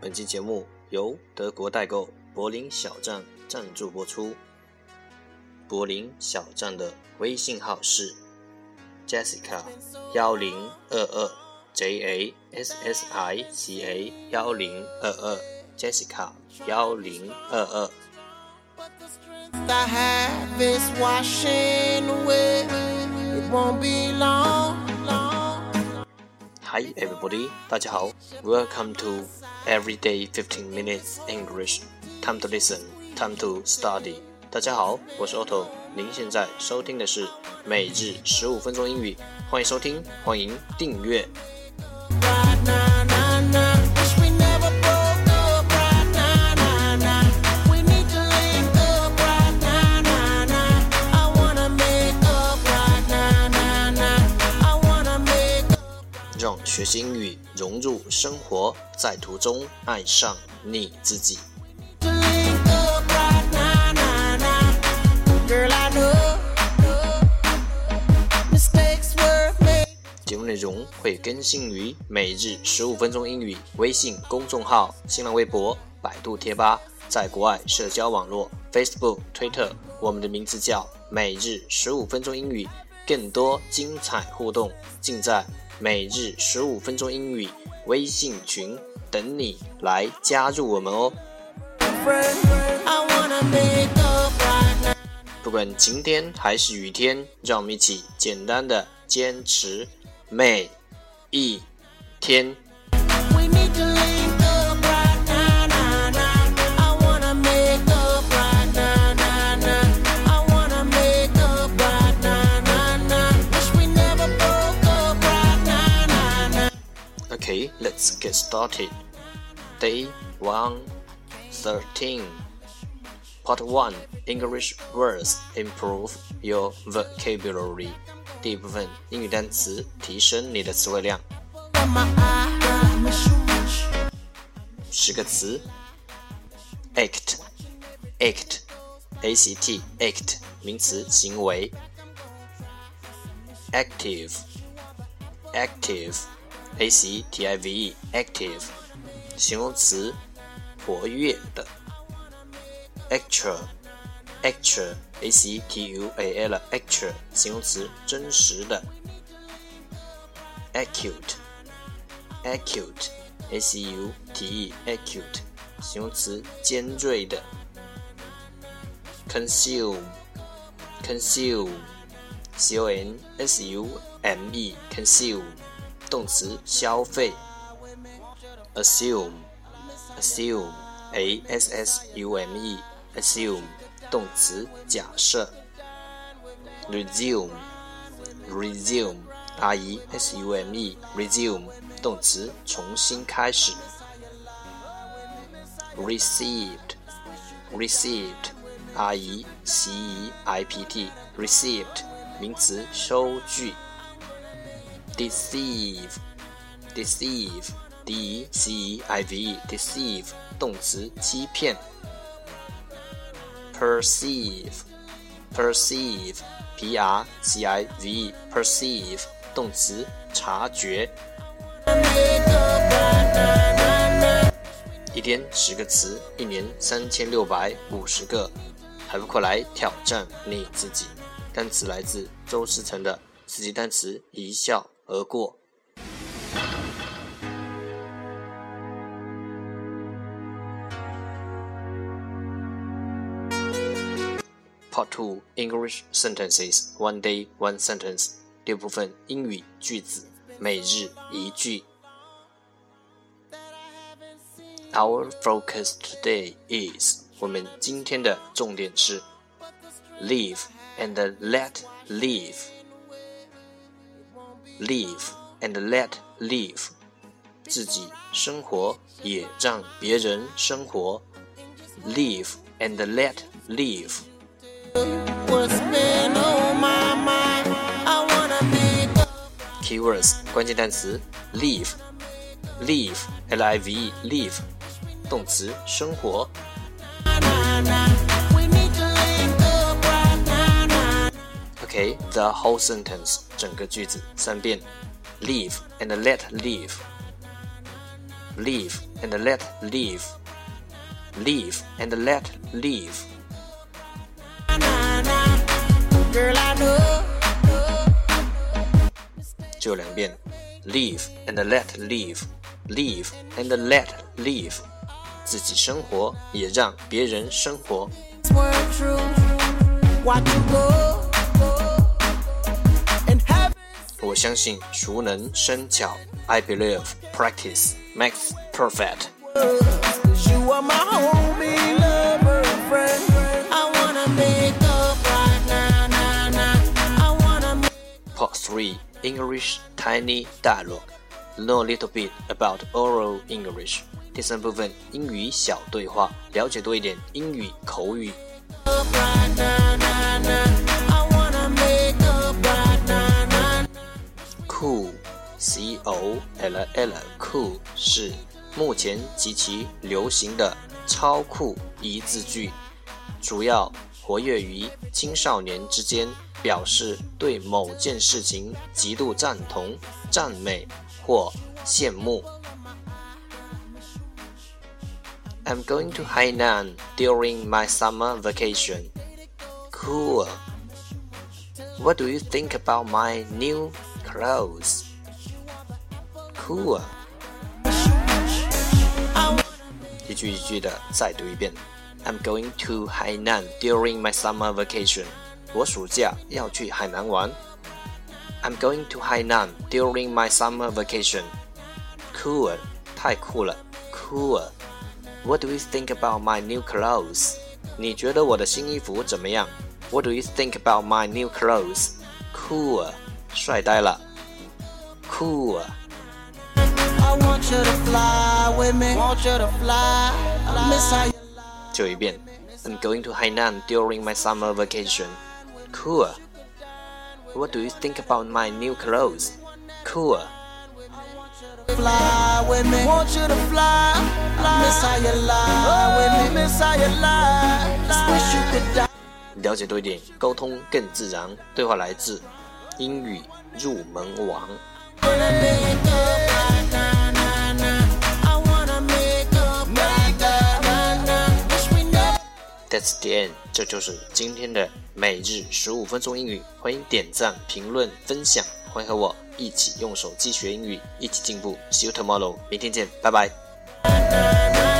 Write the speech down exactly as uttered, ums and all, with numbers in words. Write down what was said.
本期节目由德国代购柏林小站赞助播出。柏林小站的微信号是 Jessica 一零二二 J A S S I C A 一零二二 Jessica 一零二二。I have is washing away. It won't be long, long. Hi everybody, 大家好 Welcome to Everyday fifteen minutes English. Time to listen, time to study. 大家好，我是 Otto， 您现在收听的是每日十五分钟英语，欢迎收听，欢迎订阅。让学习英语融入生活，在途中爱上你自己。节目内容会更新于每日十五分钟英语微信公众号、新浪微博、百度贴吧，在国外社交网络 Facebook、Twitter， 我们的名字叫每日十五分钟英语，更多精彩互动尽在每日十五分钟英语微信群，等你来加入我们哦。不管晴天还是雨天，让我们一起简单的坚持每一天。Okay, let's get started. Day one thirteen. Part one, English words improve your vocabulary. 第一部分，英语单词提升你的词汇量。十个词 act, act, A C T, act, 名词，行为。active, active, A C T I V E, active, 形容词，活跃的。actual, actual, A C T U A L, actual, 形容词，真实的。acute, acute, A C U T E, acute, 形容词，尖锐的。consume, consume, C O N S U M E, consume, 动词，消费。assume, assume, A S S U M E, assume, 动词，假设。resume, resume, R E S U M E, resume, 动词，重新开始。received, received, R E C E I P T, received, 名词，收据。deceive, deceive, D E C E I V E, deceive, 动词，欺骗。perceive, perceive, P R C I V E, perceive, 动词，察觉。一天十个词，一年三千六百五十个，还不快来挑战你自己？单词来自周思成的四级单词一笑而过。Part two, English sentences, one day, one sentence. 第二部分，英语句子，每日一句。Our focus today is, 我们今天的重点是 live and let live. Live and let live. 自己生活，也让别人生活。Live and let live. Keywords 关键单词 live, live, L I V E, live, 动词，生活。Okay, the whole sentence, 整个句子三遍。Live and let live. live and let live, live and let live. Girl, I know. 就两遍 live and let live, live and let live. 自己生活也让别人生活。我相信熟能生巧。I believe practice makes perfect. You are my homie, lover, and friend. I wanna make up right now, now, now. I wanna make... Part three, English Tiny Dialogue. Know a little bit about oral English. 第三部分，英语小对话，了解多一点英语口语。 up right now, now, now. I wanna make up right now, now. Cool, C O L L, cool 是目前极其流行的超酷一字句，主要活跃于青少年之间，表示对某件事情极度赞同、赞美或羡慕。I'm going to Hainan during my summer vacation. Cool. What do you think about my new clothes? Cool. 一句一句的再读一遍。I'm going to Hainan during my summer vacation. 我暑假要去海南玩。I'm going to Hainan during my summer vacation. Cool. 太酷了。Cool.What do you think about my new clothes? 你觉得我的新衣服怎么样 What do you think about my new clothes? Cool. 帅呆了 Cool. I want you to fly with me. Want you to fly. I miss how you lie. 就一遍 I'm going to Hainan during my summer vacation. Cool. What do you think about my new clothes? Cool. Fly with me. Want you to fly. I miss how you lie with me. Miss how you lie. Just wish you could die. 了解多一点，沟通更自然。对话来自英语入门王。 Wanna make up right now, now, now. I wanna make up right now, now, now. Wish we never. That's the end. 这就是今天的每日十五分钟英语。欢迎点赞、评论、分享，欢迎和我一起用手机学英语，一起进步。See you tomorrow. 明天见，拜拜。